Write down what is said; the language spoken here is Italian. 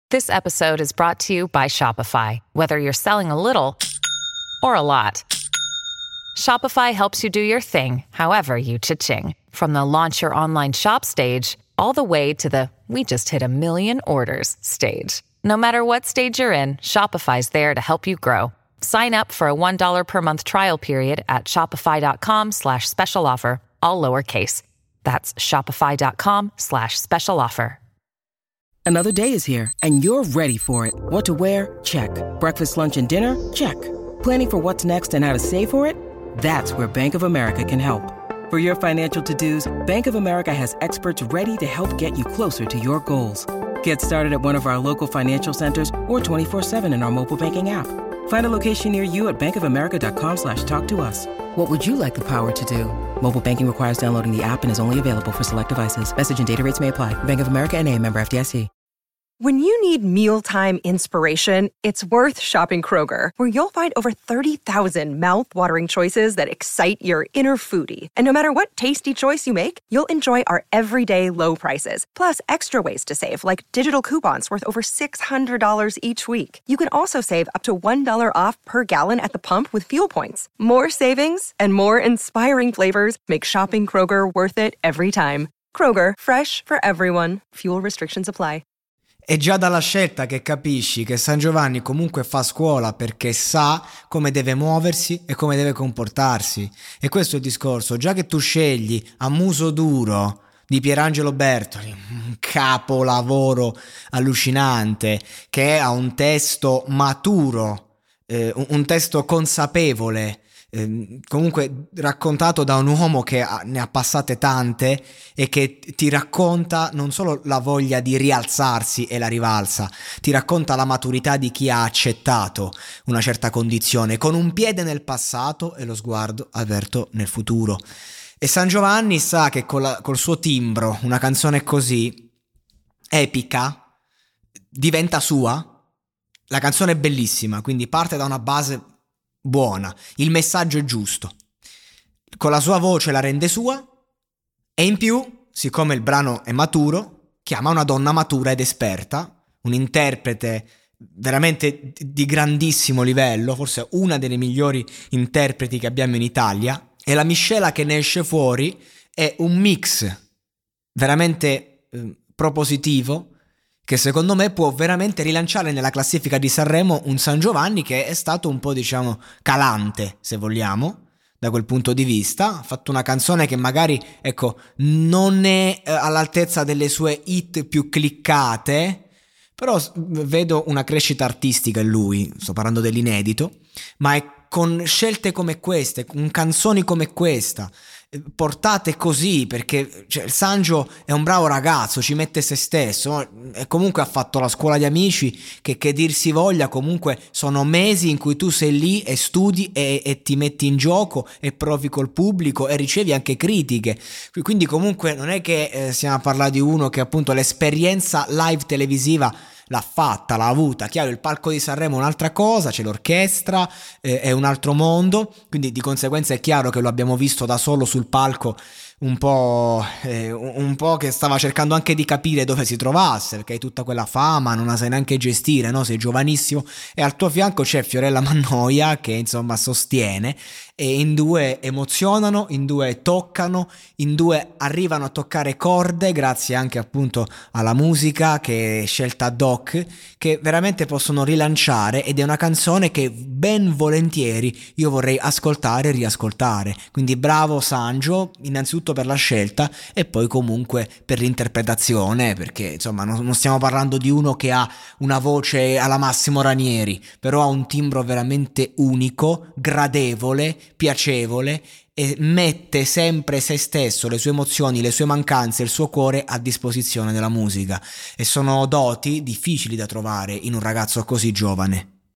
This episode is brought to you by Shopify. Whether you're selling a little or a lot, Shopify helps you do your thing, however you cha-ching. From the launch your online shop stage, all the way to the we just hit 1 million orders stage. No matter what stage you're in, Shopify's there to help you grow. Sign up for a $1 per month trial period at shopify.com/special offer, all lowercase. That's shopify.com/special offer. Another day is here, and you're ready for it. What to wear? Check. Breakfast, lunch, and dinner? Check. Planning for what's next and how to save for it? That's where Bank of America can help. For your financial to-dos, Bank of America has experts ready to help get you closer to your goals. Get started at one of our local financial centers or 24/7 in our mobile banking app. Find a location near you at bankofamerica.com/talktous. What would you like the power to do? Mobile banking requires downloading the app and is only available for select devices. Message and data rates may apply. Bank of America N.A., member FDIC. When you need mealtime inspiration, it's worth shopping Kroger, where you'll find over 30,000 mouth-watering choices that excite your inner foodie. And no matter what tasty choice you make, you'll enjoy our everyday low prices, plus extra ways to save, like digital coupons worth over $600 each week. You can also save up to $1 off per gallon at the pump with fuel points. More savings and more inspiring flavors make shopping Kroger worth it every time. Kroger, fresh for everyone. Fuel restrictions apply. È già dalla scelta che capisci che San Giovanni comunque fa scuola, perché sa come deve muoversi e come deve comportarsi. E questo è il discorso. Già che tu scegli A muso duro di Pierangelo Bertoli, un capolavoro allucinante, che ha un testo maturo, un testo consapevole, comunque raccontato da un uomo che ne ha passate tante e che ti racconta non solo la voglia di rialzarsi e la rivalsa, ti racconta la maturità di chi ha accettato una certa condizione con un piede nel passato e lo sguardo aperto nel futuro. E San Giovanni sa che col suo timbro una canzone così epica diventa sua. La canzone è bellissima, quindi parte da una base buona, il messaggio è giusto, con la sua voce la rende sua e in più, siccome il brano è maturo, chiama una donna matura ed esperta, un interprete veramente di grandissimo livello, forse una delle migliori interpreti che abbiamo in Italia, e la miscela che ne esce fuori è un mix veramente propositivo, che secondo me può veramente rilanciare nella classifica di Sanremo un San Giovanni che è stato un po', diciamo, calante, se vogliamo, da quel punto di vista. Ha fatto una canzone che magari, ecco, non è all'altezza delle sue hit più cliccate, però vedo una crescita artistica in lui, sto parlando dell'inedito, ma è con scelte come queste, con canzoni come questa, portate così, perché cioè, il Sangio è un bravo ragazzo, ci mette se stesso, no? E comunque ha fatto la scuola di amici che dir si voglia, comunque sono mesi in cui tu sei lì e studi e ti metti in gioco e provi col pubblico e ricevi anche critiche, quindi comunque non è che stiamo a parlare di uno che appunto l'esperienza live televisiva l'ha fatta, l'ha avuta. Chiaro, il palco di Sanremo è un'altra cosa, c'è l'orchestra, è un altro mondo, quindi di conseguenza è chiaro che lo abbiamo visto da solo sul palco un po' che stava cercando anche di capire dove si trovasse, perché hai tutta quella fama, non la sai neanche gestire, no? Sei giovanissimo e al tuo fianco c'è Fiorella Mannoia che insomma sostiene, e in due emozionano, in due toccano, in due arrivano a toccare corde grazie anche appunto alla musica che è scelta ad hoc, che veramente possono rilanciare, ed è una canzone che ben volentieri io vorrei ascoltare e riascoltare. Quindi bravo Sangio, innanzitutto per la scelta e poi comunque per l'interpretazione, perché insomma non stiamo parlando di uno che ha una voce alla Massimo Ranieri, però ha un timbro veramente unico, gradevole, piacevole, e mette sempre se stesso, le sue emozioni, le sue mancanze, il suo cuore a disposizione della musica, e sono doti difficili da trovare in un ragazzo così giovane.